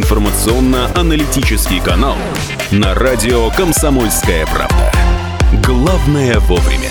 информационно-аналитический канал на радио «Комсомольская правда». Главное вовремя.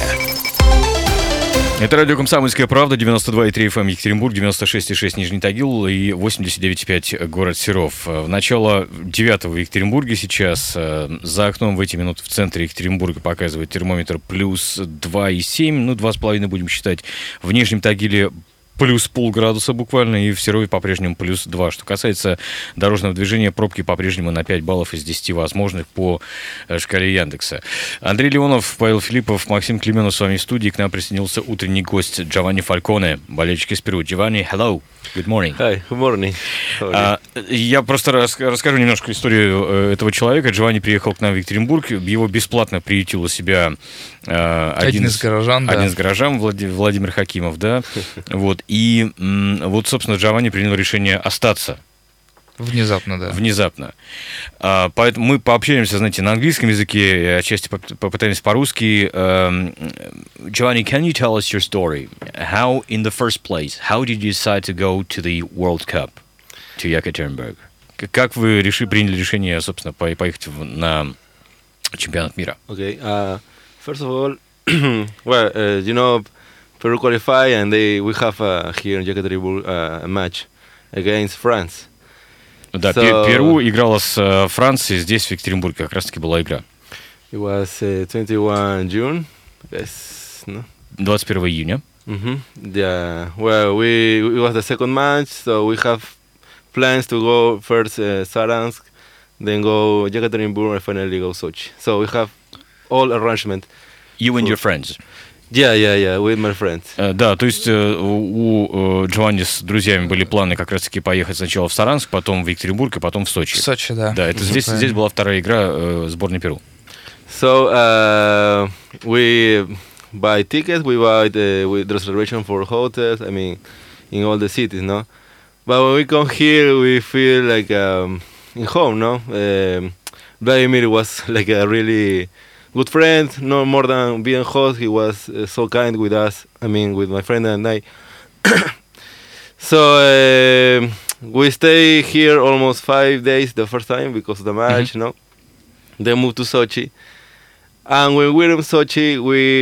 Это радио «Комсомольская правда», 92,3 FM Екатеринбург, 96,6 Нижний Тагил и 89,5 город Серов. В начало 9 в Екатеринбурге сейчас. За окном в эти минуты в центре Екатеринбурга показывает термометр плюс 2,7, ну 2,5 будем считать. В Нижнем Тагиле плюс полградуса буквально, и в Серове по-прежнему плюс 2. Что касается дорожного движения, пробки по-прежнему на 5 баллов из 10 возможных по шкале Яндекса. Андрей Леонов, Павел Филиппов, Максим Клименов с вами в студии. К нам присоединился утренний гость Джованни Фальконе, болельщик из Перу. Джованни, hello, good morning. Hi, good morning. Я просто расскажу немножко историю этого человека. Джованни приехал к нам в Екатеринбург, его бесплатно приютил у себя один из горожан, Владимир Хакимов, да, вот. И вот, собственно, Джованни принял решение остаться. Внезапно, да. Внезапно. Поэтому мы пообщаемся, знаете, на английском языке, отчасти попытаемся по-русски. Giovanni, can you tell us your story? How, in the first place, how did you decide to go to the World Cup, to Yekaterinburg? Как вы приняли решение, собственно, поехать на чемпионат мира? Okay. First of all, well, you know, Peru qualify, and we have here in Yekaterinburg a match against France. Да, Перу играла с Францией, здесь, в Екатеринбурге, как раз-таки была игра. It was 21 June, yes, no? 21 июня. Yeah, well, it was the second match, so we have plans to go first Saransk, then go Yekaterinburg, and finally go Sochi. So we have all arrangement. You and your friends? Yeah, with my friends. Да, то есть у Джованни с друзьями были планы как раз-таки поехать сначала в Саранск, потом в Екатеринбург, и потом в Сочи. В Сочи, да. Да, это здесь была вторая игра сборной Перу. So we buy tickets, we buy with reservation for hotels, I mean, in all the cities, no? But when we come here, we feel like in home, no? Vladimir was like a really good friend, no more than being host. He was so kind with us. I mean, with my friend and I. So we stay here almost 5 days the first time because of the match, no? Then move to Sochi, and when we're in Sochi,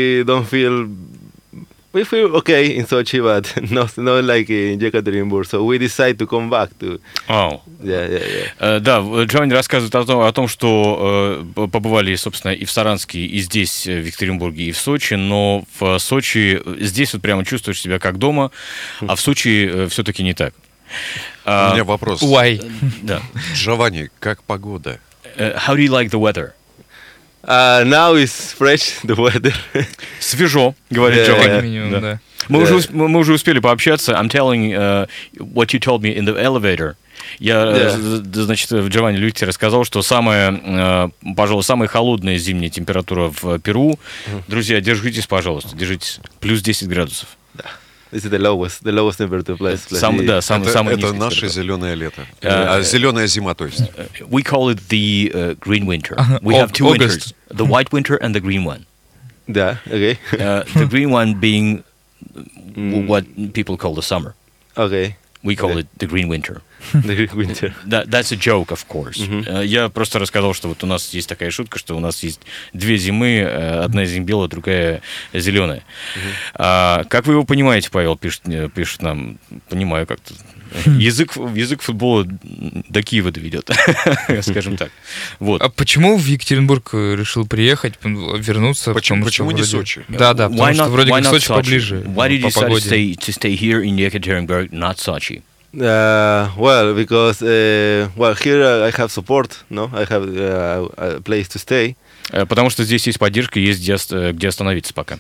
we feel okay in Sochi, but not like in Yekaterinburg. So we decide to come back to. Oh. Yeah. Да, Джованни рассказывает о том, что побывали, собственно, и в Саранске, и здесь, в Екатеринбурге, и в Сочи, но в Сочи здесь вот прямо чувствуешь себя как дома, а в Сочи все-таки не так. У меня вопрос. Why? Да. Джованни, как погода? How do you like the weather? Now it's fresh, the weather. Свежо, говорит Джованни. Да. Мы уже успели пообщаться. I'm telling what you told me in the elevator. Значит, Джованни Люти рассказал, что пожалуй, самая холодная зимняя температура в Перу. Друзья, держитесь, пожалуйста, держитесь. Плюс 10 градусов. Да. This is the lowest temperature place. Это наше зеленое лето. Зеленая зима, то есть. We call it the green winter. We have two winters, the white winter and the green one. Yeah, okay. The green one being what people call the summer. Okay. We call it the green winter. The green winter. That's a joke, of course. Я просто рассказал, что вот у нас есть такая шутка, что у нас есть две зимы, одна из них белая, другая зеленая. Как вы его понимаете, Павел, пишет нам, понимаю как-то. Язык футбола до Киева доведет, скажем так. Вот. А почему в Екатеринбург решил приехать, вернуться? Почему не Сочи? Да, потому что вроде как Сочи поближе. Why did you decide to stay here in Yekaterinburg, not Sochi? Well, because here I have support, no? I have a place to stay. Потому что здесь есть поддержка, есть где остановиться пока.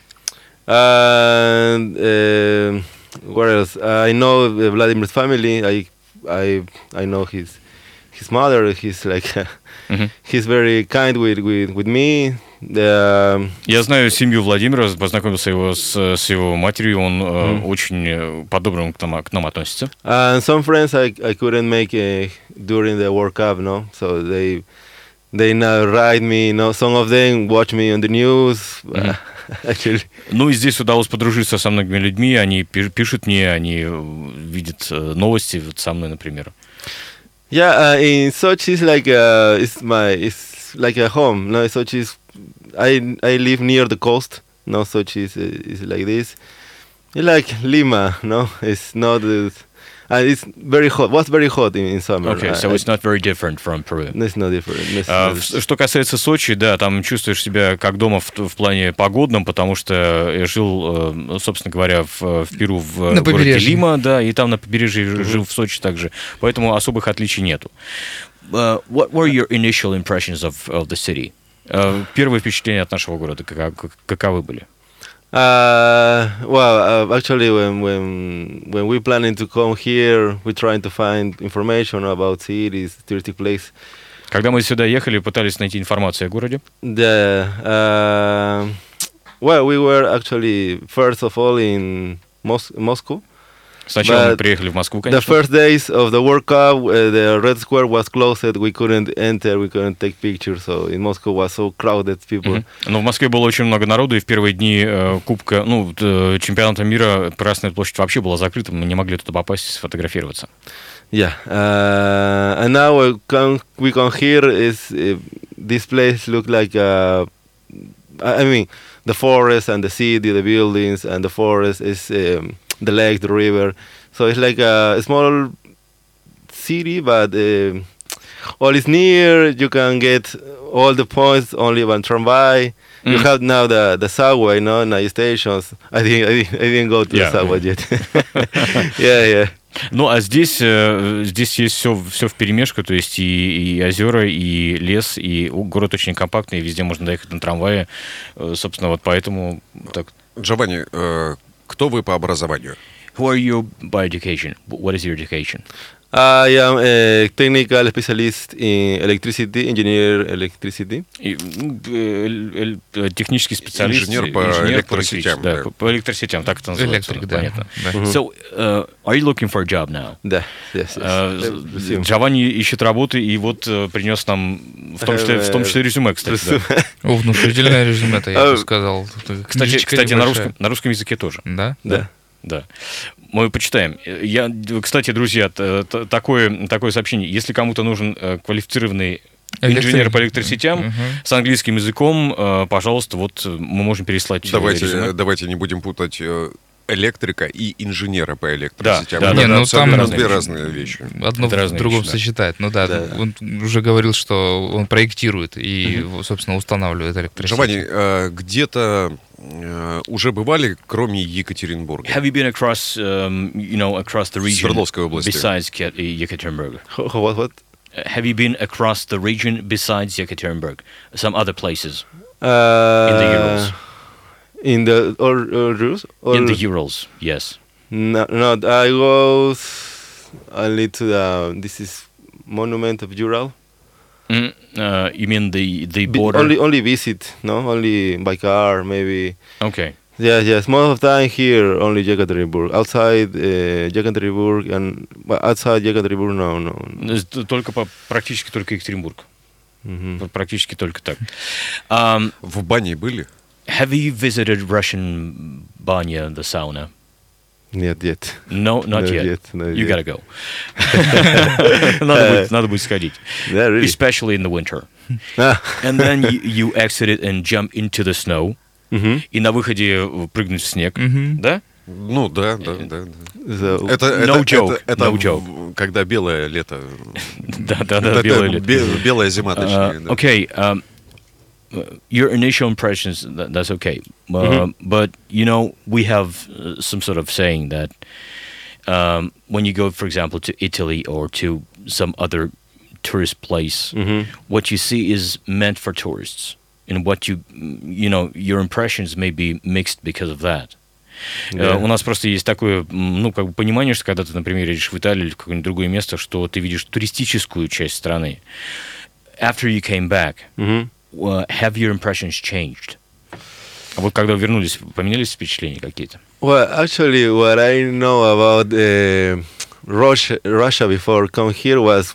What else? I know Vladimir's family. I know his mother. He's like he's very kind with me. Я знаю семью Владимира, познакомился с его матерью, он очень по-доброму к нам относится. And some friends I couldn't make during the World Cup, no? So they now write me, no? Some of them watch me on the news. Actually. Ну и здесь удалось подружиться со многими людьми, они пишут мне, они видят новости вот со мной, например. Yeah, in Sochi it's like a home. No, Sochi is I live near the coast. No, Sochi is like this. It's like Lima. No, it's not. And it's very hot. Was very hot in summer. Okay, so it's not very different from Peru. It's not different. Что касается Сочи, да, там чувствуешь себя как дома в плане погодном, потому что я жил, собственно говоря, в Перу, в городе Лима, да, и там на побережье жил в Сочи также, поэтому особых отличий нету. What were your initial impressions of the city? Первые впечатления от нашего города каковы были? Actually, when we planning to come here, we trying to find information about cities, touristic place. Когда мы сюда ехали, пытались найти информацию о городе. We were actually first of all in Moscow. Сначала мы приехали в Москву, конечно. The first days of the World Cup, the Red Square was closed. We couldn't enter, we couldn't take pictures. So in Moscow was so crowded, people. Но в Москве было очень много народу, и в первые дни Кубка, чемпионата мира Красная площадь вообще была закрыта, мы не могли туда попасть, сфотографироваться. Yeah, and now we come here. This place look like I mean, the forest and the city, the buildings and the forest is. The lake, the river, so it's like a small city, but all is near. You can get all the points only one tramway. You have now the subway, no, night stations. I didn't go to the subway yet. Yeah. Ну, а здесь есть все вперемешку, то есть и озера, и лес, и город очень компактный, и везде можно доехать на трамвае. Собственно, вот поэтому так. Джованни, кто вы по образованию? Who are you by education? What is your education? I am a technical specialist in electricity, engineer electricity. Технический специалист. Инженер по электросетям. Да, по электросетям, так это называется. Электрик, да. Понятно. So, are you looking for a job now? Да, yes. Джованни ищет работы, и вот принес нам, в том числе резюме, кстати. Да. Внушительное резюме-то, я бы сказал. Кстати, на русском языке тоже. Да? Да. Мы почитаем. Кстати, друзья, такое сообщение. Если кому-то нужен квалифицированный инженер по электросетям с английским языком, пожалуйста, вот мы можем переслать. Давайте не будем путать электрика и инженера по электросетям. Да, там две разные вещи. Одно в другом сочетает. Ну да, он уже говорил, что он проектирует и, собственно, устанавливает электросети. Джованни, где-то уже бывали, кроме Екатеринбурга? Have you been across the region besides Yekaterinburg? What? Have you been across the region besides Yekaterinburg? Some other places in the Urals? In the Urals? In the Urals, yes. No, I was only to this is monument of Ural. You mean the border? Only visit, no? Only by car, maybe. Okay. Yes. Most of the time here, only Yekaterinburg. Outside Yekaterinburg and outside Yekaterinburg, no. Практически только Екатеринбург. Практически только так. В бане были? Have you visited Russian banya, the sauna? Not yet. No, not yet. You gotta go. Надо будет сходить. Yeah, really. Especially in the winter. And then you exit it and jump into the snow. И на выходе прыгнуть в снег. Да? Ну, да. No joke. Когда белое лето. Да, белое лето. Белая зима, точнее. Okay. Your initial impressions, that's okay. But, we have some sort of saying that when you go, for example, to Italy or to some other tourist place, what you see is meant for tourists. And what your impressions may be mixed because of that. У нас просто есть такое, понимание, что когда ты, например, едешь в Италию или в какое-нибудь другое место, что ты видишь туристическую часть страны. After you came back, have your impressions changed? А вот когда вернулись, поменялись впечатления какие-то? Well, actually, what I know about Russia before come here was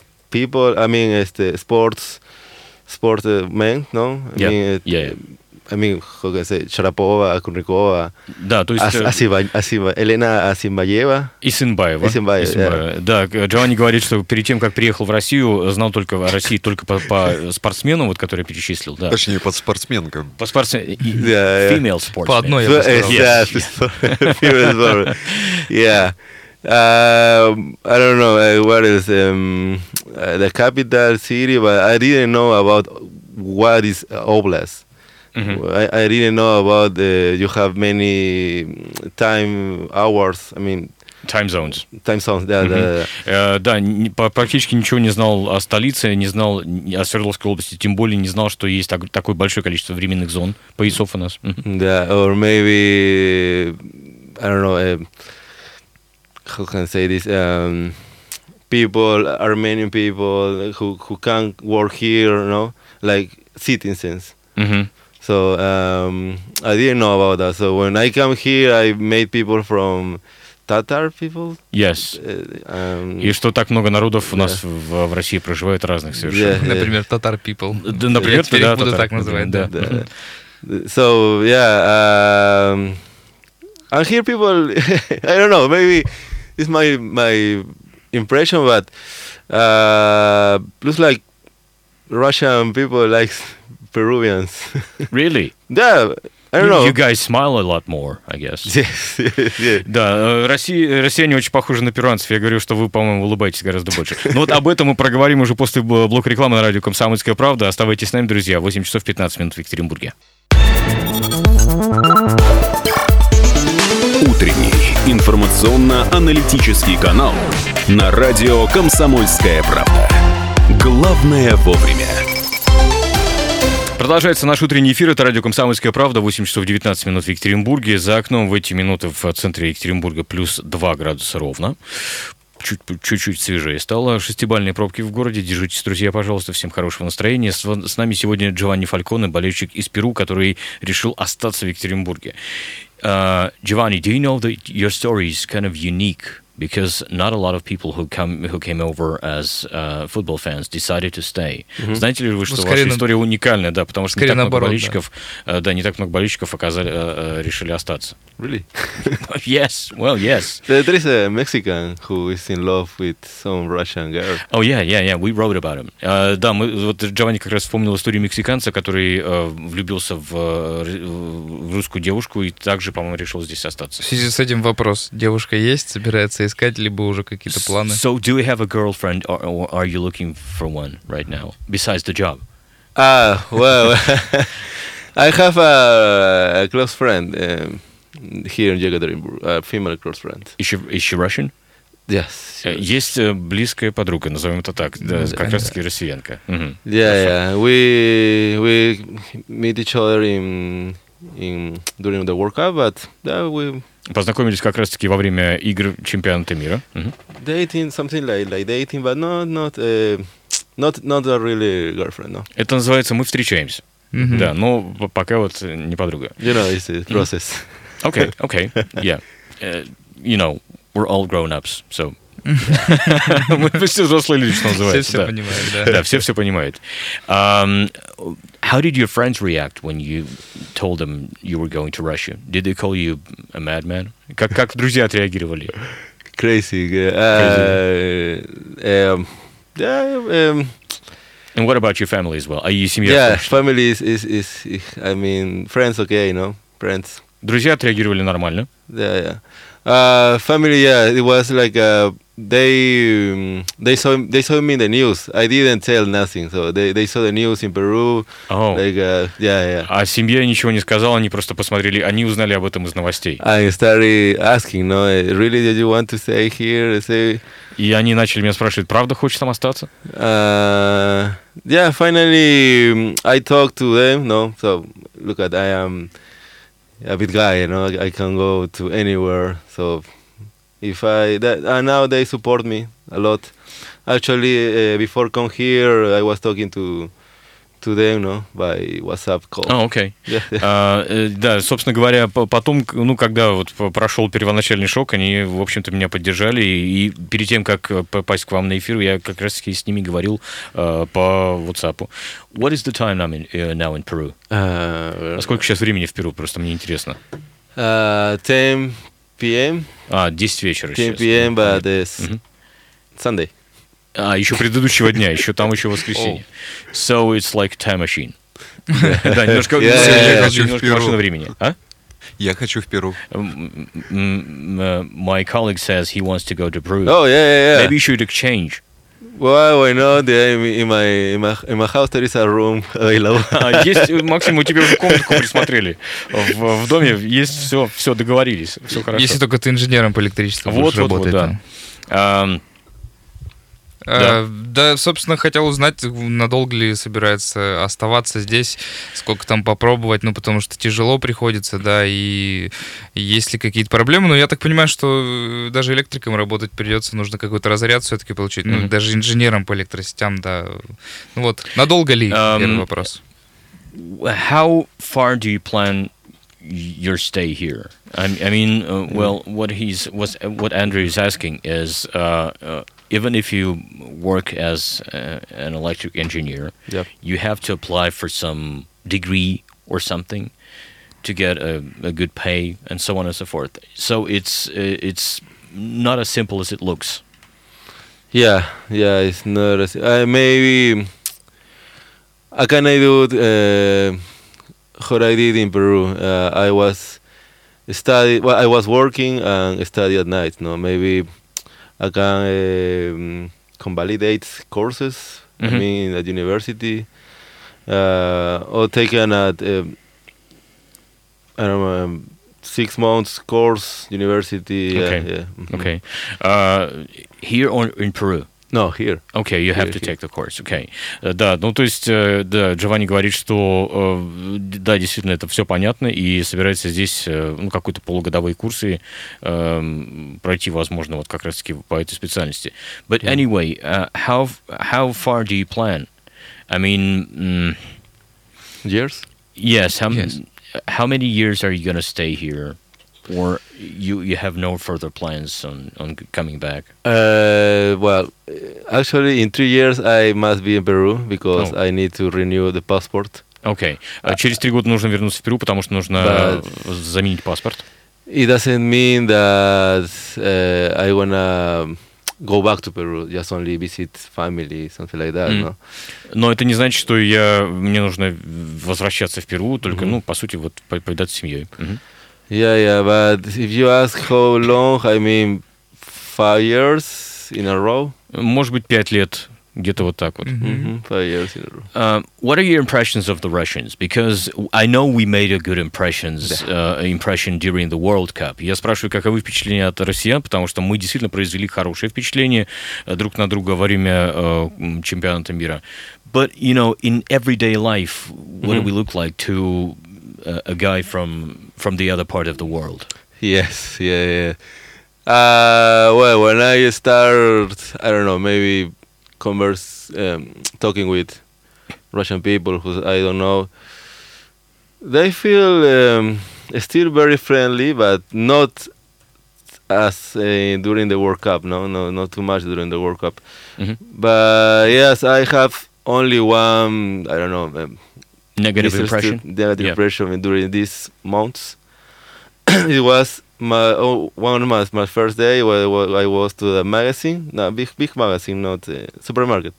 people. I mean, sportsmen, no? I mean, how can I say, Sharapova, Kurnikova, Да, то есть... Елена Асимбаева. Исинбаева. Исинбаева. Да, Джованни говорит, что перед тем, как приехал в Россию, знал только о России только по спортсменам, вот, которые перечислил. Да. Точнее, по спортсменкам. По спортсменам. Female sportsmen. По одной, я бы сказал. Female sport. Yeah. I don't know what is the capital city, but I didn't know about what is oblast. I didn't know about you have many time hours. I mean, time zones. Да. Практически ничего не знал о столице, не знал о Свердловской области, тем более не знал, что есть такое большое количество временных зон, поясов у нас. Да, or maybe, I don't know, how can I say this? People, Armenian people who can work here, like citizens. So I didn't know about that. So when I come here, I met people from Tatar people. Yes. И что так много народов у нас в России проживает разных совершенно. Например, Tatar people. Например, я буду так называть, да. So yeah, and here people, I don't know, maybe it's my impression, but looks like Russian people like Peruvians. Really? Yeah, I don't know. You guys smile a lot more, I guess. Yes. Да, россияне очень похожи на перуанцев. Я говорю, что вы, по-моему, улыбаетесь гораздо больше. Но вот об этом мы проговорим уже после блока рекламы на радио «Комсомольская правда». Оставайтесь с нами, друзья. 8 часов 15 минут в Екатеринбурге. Утренний информационно-аналитический канал на радио «Комсомольская правда». Главное вовремя. Продолжается наш утренний эфир. Это радио «Комсомольская правда». 8 часов 19 минут в Екатеринбурге. За окном в эти минуты в центре Екатеринбурга плюс 2 градуса ровно. Чуть-чуть свежее стало. 6-бальные пробки в городе. Держитесь, друзья, пожалуйста. Всем хорошего настроения. С нами сегодня Джованни Фальконе, болельщик из Перу, который решил остаться в Екатеринбурге. Giovanni, do you know that your story is kind of unique? Because not a lot of people who came over as football fans decided to stay. Знаете ли вы, что ваша история уникальная, да, потому что не так много болельщиков, не так много болельщиков решили остаться. Really? Yes. Well, yes. There is a Mexican who is in love with some Russian girl. Oh yeah. We wrote about him. Да, вот Джованни как раз вспомнил историю мексиканца, который влюбился в русскую девушку и также, по-моему, решил здесь остаться. В связи с этим вопрос: девушка есть, собирается искать, либо уже какие-то планы? So, do you have a girlfriend, or are you looking for one right now, besides the job? Well, I have a close friend here in Yekaterinburg, a female close friend. Is she Russian? Yes. Есть близкая подруга, назовем это так, да, как раз-таки россиянка. Yeah. We meet each other during the World Cup, but we познакомились как раз-таки во время игр чемпионата мира. Dating, something like dating, but not a really girlfriend, no. Это называется «мы встречаемся». Да, но пока вот не подруга. You know, it's a process. Okay, yeah. You know, we're all grown-ups, so... Мы все взрослые люди, что называется. Все понимают, да. Да, все понимают. How did your friends react when you told them you were going to Russia? Did they call you a madman? Как друзья отреагировали? Crazy. And what about your family as well? Are you семья? Yeah, family is I mean, friends, okay, friends. Друзья отреагировали нормально. Yeah. Family, yeah, it was like they saw me in the news. I didn't tell nothing, so they saw the news in Peru. Oh. Like, yeah. А семья ничего не сказала, они просто посмотрели, они узнали об этом из новостей. I started asking, really, did you want to stay here? И они начали меня спрашивать, правда хочешь там остаться? Yeah, finally I talked to them, so look at, I am a big guy, I can go to anywhere, so and now they support me a lot. Actually, before come here, I was talking to to them, no, by WhatsApp call. Окей. Да, собственно говоря, потом, ну, когда вот прошел первоначальный шок, они, в общем-то, меня поддержали, и перед тем, как попасть к вам на эфир, я как раз-таки с ними говорил по WhatsApp. What is the time now in Peru? Сколько сейчас времени в Перу? Просто мне интересно. 10 p.m. 10 вечера 10 сейчас. p.m., but it's Sunday. Еще предыдущего дня, еще воскресенье. So it's like time machine. Да, немножко машина времени. Я хочу в Перу. My colleague says he wants to go to Peru. Oh, yeah. Maybe you should exchange. Well, why not? In my house there is a room available. Есть, Максим, мы тебе уже комнатку присмотрели. В доме есть все договорились, все хорошо. Если только ты инженером по электричеству будешь работать. Да. Да, собственно, хотел узнать, надолго ли собирается оставаться здесь, сколько там попробовать, ну, потому что тяжело приходится, да, и есть ли какие-то проблемы, но я так понимаю, что даже электриком работать придется, нужно какой-то разряд все-таки получить, ну, даже инженером по электросетям, да. Ну вот, надолго ли, первый вопрос. How far do you plan your stay here? I mean, well, what Andrew is asking is, even if you work as an electric engineer, you have to apply for some degree or something to get a good pay and so on and so forth. So it's not as simple as it looks. Yeah, it's not as maybe I can do what I did in Peru. I was working and study at night. No, maybe I can convalidate courses. I mean, at university, or taken at I don't know, 6 months course university. Okay. Okay. Here or in Peru? No, here. Okay, you have to take the course. Okay. Да, ну то есть, да, Джованни говорит, что да, действительно, это все понятно, и собирается здесь, ну, какой-то полугодовые курсы пройти, возможно, вот как раз-таки по этой специальности. But anyway, how far do you plan? I mean... Years? Yes. How many years are you going to stay here? Or you have no further plans on coming back? Well, actually, in 3 years I must be in Peru because I need to renew the passport. Okay. Через 3 года нужно вернуться в Перу, потому что нужно заменить паспорт. It doesn't mean that I wanna go back to Peru, just only visit family, something like that, no? Но это не значит, что мне нужно возвращаться в Перу, только, ну, по сути, вот повидаться с семьей. Yeah, but if you ask how long, I mean 5 years in a row. Может быть, 5 лет, где-то вот так вот. 5 years in a row. What are your impressions of the Russians? Because I know we made a good impression during the World Cup. Я спрашиваю, каковы впечатления от россиян, потому что мы действительно произвели хорошее впечатление друг на друга во время чемпионата мира. But, you know, in everyday life, what do we look like to a guy from the other part of the world? Yes, yeah. Well, when I start, I don't know, maybe talking with Russian people who I don't know, they feel still very friendly, but not as during the World Cup. No, not too much during the World Cup. But yes, I have only one, I don't know, negative impression during these months. It was one of my first day where I was to the magazine, big magazine, not supermarket.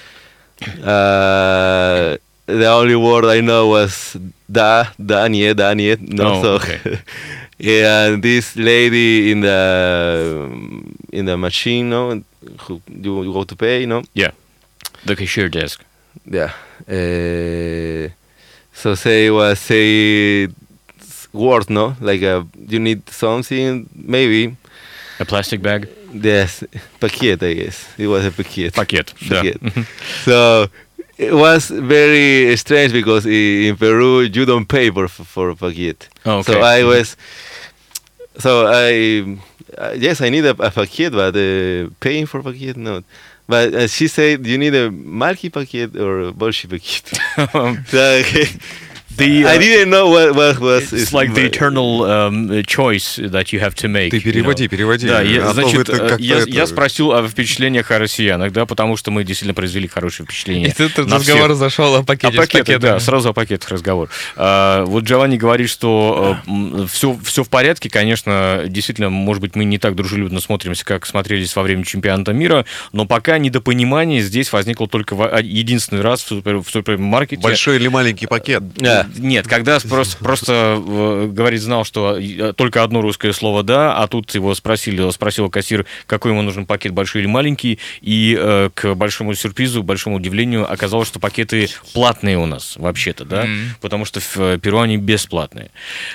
The only word I know was da niet. No, so okay. And this lady in the machine, no, who you go to pay, no. Yeah, the cashier desk. Yeah. So say words, no? Like you need something, maybe. A plastic bag? Yes, paquete, I guess. It was a paquete. Paquete, yeah. So it was very strange because in Peru you don't pay for a paquete. Oh, okay. So yes, I need a paquet, but paying for paquet, not. But she said, you need a Malki paquet or a Bolshi paquet. I didn't know what was. It's like the eternal choice that you have to make. Ты переводи. Да, я спросил о впечатлениях о россиянах, да, потому что мы действительно произвели хорошее впечатление. И тут разговор зашел о пакете. Да, сразу о пакетах разговор. Вот Джованни говорит, что все в порядке, конечно, действительно, может быть, мы не так дружелюбно смотримся, как смотрелись во время чемпионата мира, но пока недопонимание здесь возникло только единственный раз в супермаркете. Большой или маленький пакет? Нет, когда просто говорит, знал, что только одно русское слово «да», а тут его спросил кассир, какой ему нужен пакет, большой или маленький, и к большому сюрпризу, большому удивлению оказалось, что пакеты платные у нас вообще-то, да, потому что в Перу они бесплатные.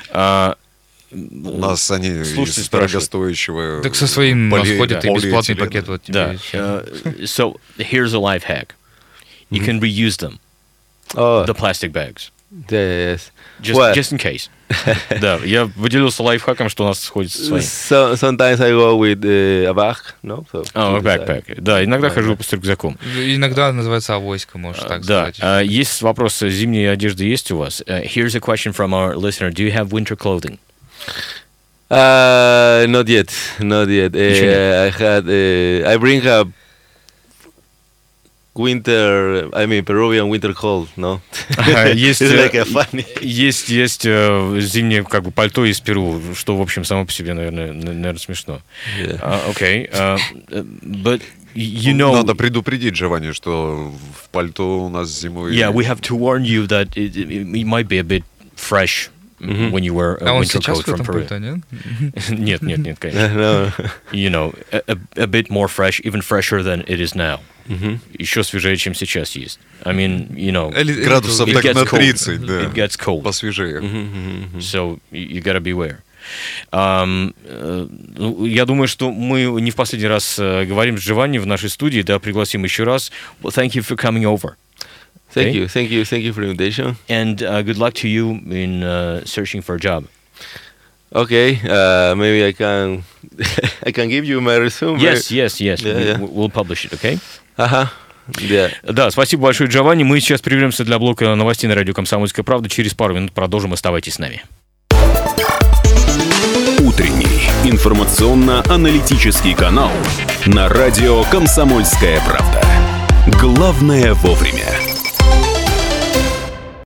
У нас они из дорогостоящего... Так со своим восходит и бесплатный пакет. Вот да. So, here's a life hack. You can reuse them. The plastic bags. Yes. Just in case. Да, я выделился лайфхаком, что у нас сходится со своим. Sometimes I go with a bag, no? A backpack. Да, иногда хожу с рюкзаком. Иногда называется авоська, можно так сказать. Да, есть вопрос, зимней одежды есть у вас? Here's a question from our listener. Do you have winter clothing? Not yet. I bring a Peruvian winter coat, no? Есть зимнее как бы пальто из Перу, что, в общем, само по себе, наверное, смешно. Окей. But you know... Надо предупредить, Джованни, что в пальто у нас зимой... Yeah, we have to warn you that it might be a bit fresh when you wear a winter coat from Peru. Нет, конечно. You know, a bit more fresh, even fresher than it is now. Еще свежее, чем сейчас есть. I mean, you know, градусов так на 30, да. It gets cold. Посвежее. So you gotta beware. Я думаю, что мы не в последний раз говорим с Джованни в нашей студии, да, пригласим еще раз. Well, thank you for coming over. Thank you for the invitation. And good luck to you in searching for a job. Okay, maybe I can give you my resume. Yes. We'll publish it, okay? Yeah. Да, спасибо большое, Джованни. Мы сейчас прервемся для блока новостей на радио «Комсомольская правда». Через пару минут продолжим. Оставайтесь с нами. Утренний информационно-аналитический канал на радио «Комсомольская правда». Главное вовремя.